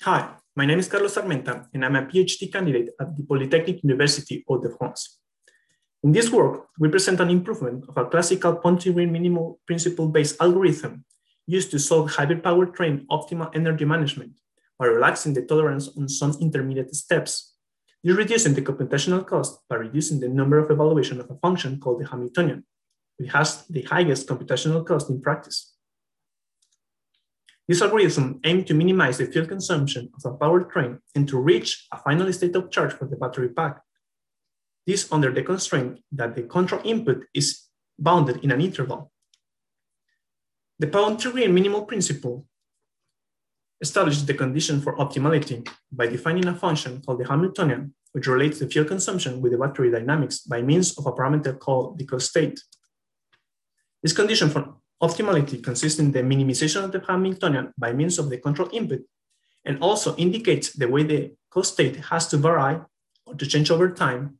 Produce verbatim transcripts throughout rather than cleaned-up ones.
Hi, my name is Carlos Armenta, and I'm a PhD candidate at the Polytechnic University of France. In this work, we present an improvement of a classical Pontypridd minimal principle-based algorithm used to solve hybrid powertrain optimal energy management by relaxing the tolerance on some intermediate steps. This reducing the computational cost by reducing the number of evaluation of a function called the Hamiltonian, which has the highest computational cost in practice. This algorithm aims to minimize the fuel consumption of a powertrain and to reach a final state of charge for the battery pack. This under the constraint that the control input is bounded in an interval. The Pontypridd minimal principle establishes the condition for optimality by defining a function called the Hamiltonian, which relates the fuel consumption with the battery dynamics by means of a parameter called the cost state. This condition for optimality consists in the minimization of the Hamiltonian by means of the control input, and also indicates the way the cost state has to vary or to change over time.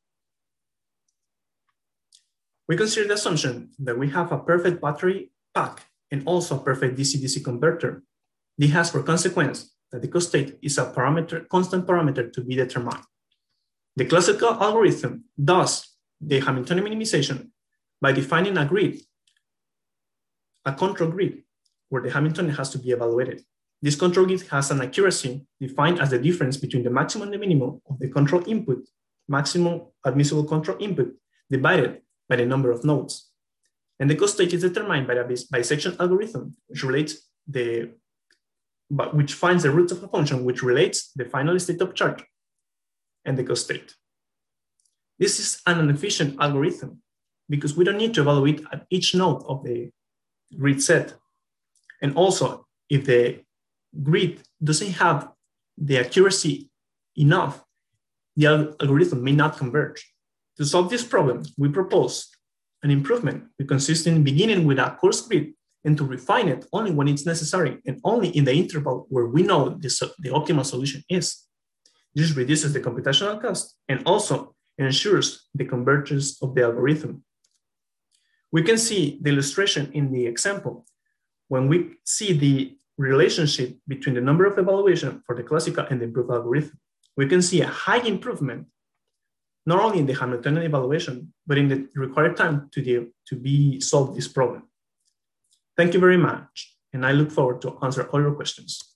We consider the assumption that we have a perfect battery pack and also a perfect D C D C converter. This has for consequence that the cost state is a parameter, constant parameter to be determined. The classical algorithm does the Hamiltonian minimization by defining a grid, a control grid, where the Hamiltonian has to be evaluated. This control grid has an accuracy defined as the difference between the maximum and the minimum of the control input, maximum admissible control input, divided by the number of nodes. And the cost state is determined by a bisection algorithm, which relates the, but which finds the roots of a function, which relates the final state of charge and the cost state. This is an inefficient algorithm because we don't need to evaluate at each node of the grid set. And also, if the grid doesn't have the accuracy enough, the algorithm may not converge. To solve this problem, we propose an improvement which consists in beginning with a coarse grid and to refine it only when it's necessary and only in the interval where we know this, the optimal solution is. This reduces the computational cost and also ensures the convergence of the algorithm. We can see the illustration in the example when we see the relationship between the number of evaluation for the classical and the improved algorithm. We can see a high improvement, not only in the Hamiltonian evaluation, but in the required time to, the, to be solved this problem. Thank you very much, and I look forward to answer all your questions.